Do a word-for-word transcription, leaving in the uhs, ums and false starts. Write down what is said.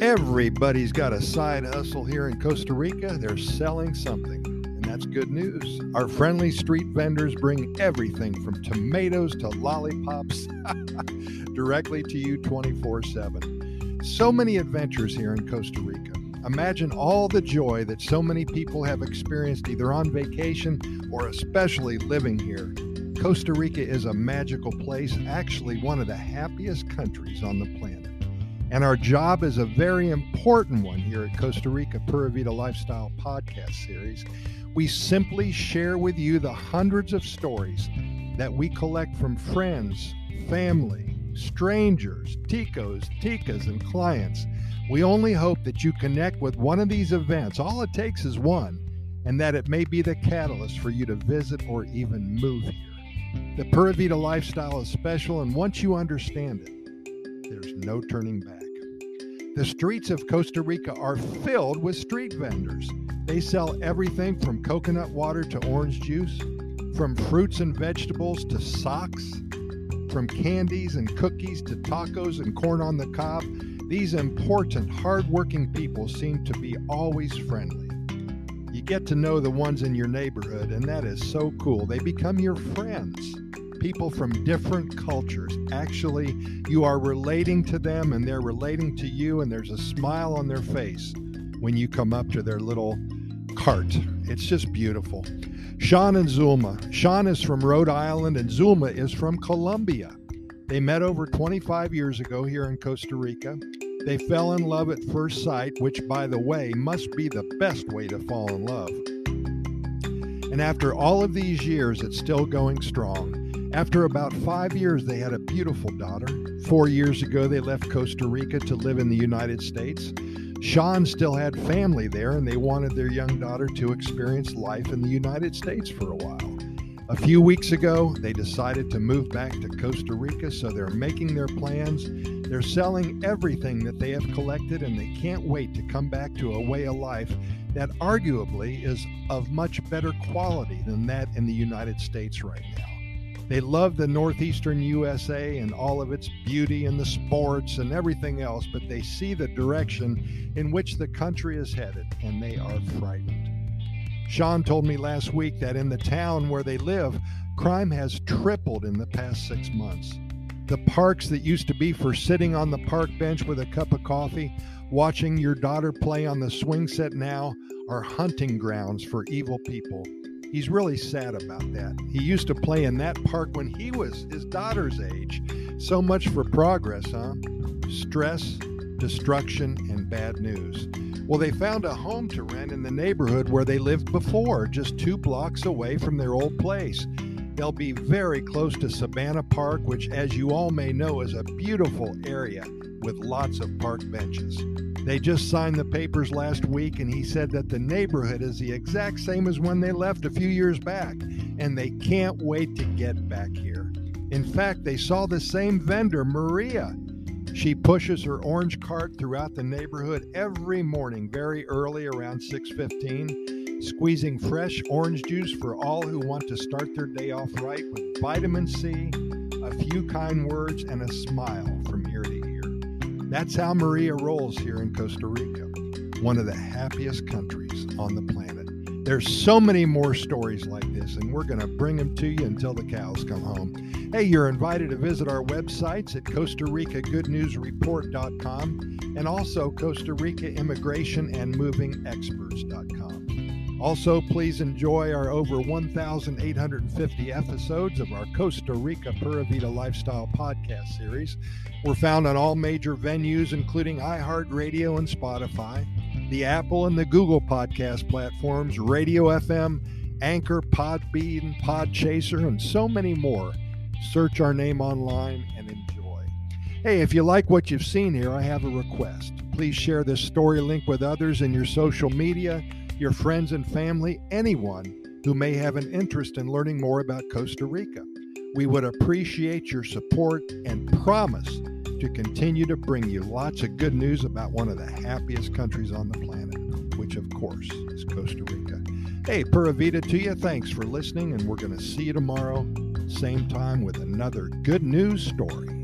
Everybody's got a side hustle here in Costa Rica. They're selling something, and that's good news. Our friendly street vendors bring everything from tomatoes to lollipops directly to you twenty-four seven. So many adventures here in Costa Rica. Imagine all the joy that so many people have experienced either on vacation or especially living here. Costa Rica is a magical place, actually one of the happiest countries on the planet. And our job is a very important one here at Costa Rica Pura Vida Lifestyle Podcast Series. We simply share with you the hundreds of stories that we collect from friends, family, strangers, ticos, ticas, and clients. We only hope that you connect with one of these events. All it takes is one, and that it may be the catalyst for you to visit or even move here. The Pura Vida lifestyle is special, and once you understand it, there's no turning back. The streets of Costa Rica are filled with street vendors. They sell everything from coconut water to orange juice, from fruits and vegetables to socks, from candies and cookies to tacos and corn on the cob. These important, hardworking people seem to be always friendly. You get to know the ones in your neighborhood, and that is so cool. They become your friends. People from different cultures. Actually, you are relating to them and they're relating to you, and there's a smile on their face when you come up to their little cart. It's just beautiful. Sean and Zulma. Sean is from Rhode Island and Zulma is from Colombia. They met over twenty-five years ago here in Costa Rica. They fell in love at first sight, which, by the way, must be the best way to fall in love. And after all of these years, it's still going strong. After about five years, they had a beautiful daughter. Four years ago, they left Costa Rica to live in the United States. Sean still had family there, and they wanted their young daughter to experience life in the United States for a while. A few weeks ago, they decided to move back to Costa Rica, so they're making their plans. They're selling everything that they have collected, and they can't wait to come back to a way of life that arguably is of much better quality than that in the United States right now. They love the northeastern U S A and all of its beauty and the sports and everything else, but they see the direction in which the country is headed, and they are frightened. Sean told me last week that in the town where they live, crime has tripled in the past six months. The parks that used to be for sitting on the park bench with a cup of coffee, watching your daughter play on the swing set now, are hunting grounds for evil people. He's really sad about that. He used to play in that park when he was his daughter's age. So much for progress, huh? Stress, destruction, and bad news. Well, they found a home to rent in the neighborhood where they lived before, just two blocks away from their old place. They'll be very close to Savannah Park, which, as you all may know, is a beautiful area with lots of park benches. They just signed the papers last week, and he said that the neighborhood is the exact same as when they left a few years back, and they can't wait to get back here. In fact, they saw the same vendor, Maria. She pushes her orange cart throughout the neighborhood every morning very early, around six fifteen, squeezing fresh orange juice for all who want to start their day off right with vitamin C, a few kind words, and a smile from ear to ear. That's how Maria rolls here in Costa Rica, one of the happiest countries on the planet. There's so many more stories like this, and we're going to bring them to you until the cows come home. Hey, you're invited to visit our websites at Costa Rica Good News Report dot com and also Costa Rica Immigration and Moving Experts dot com. Also, please enjoy our over one thousand eight hundred fifty episodes of our Costa Rica Pura Vida Lifestyle Podcast Series. We're found on all major venues, including iHeartRadio and Spotify, the Apple and the Google podcast platforms, Radio F M, Anchor, Podbean, Podchaser, and so many more. Search our name online and enjoy. Hey, if you like what you've seen here, I have a request. Please share this story link with others in your social media, your friends and family, anyone who may have an interest in learning more about Costa Rica. We would appreciate your support and promise to continue to bring you lots of good news about one of the happiest countries on the planet, which of course is Costa Rica. Hey, Pura Vida to you. Thanks for listening, and we're going to see you tomorrow, same time, with another good news story.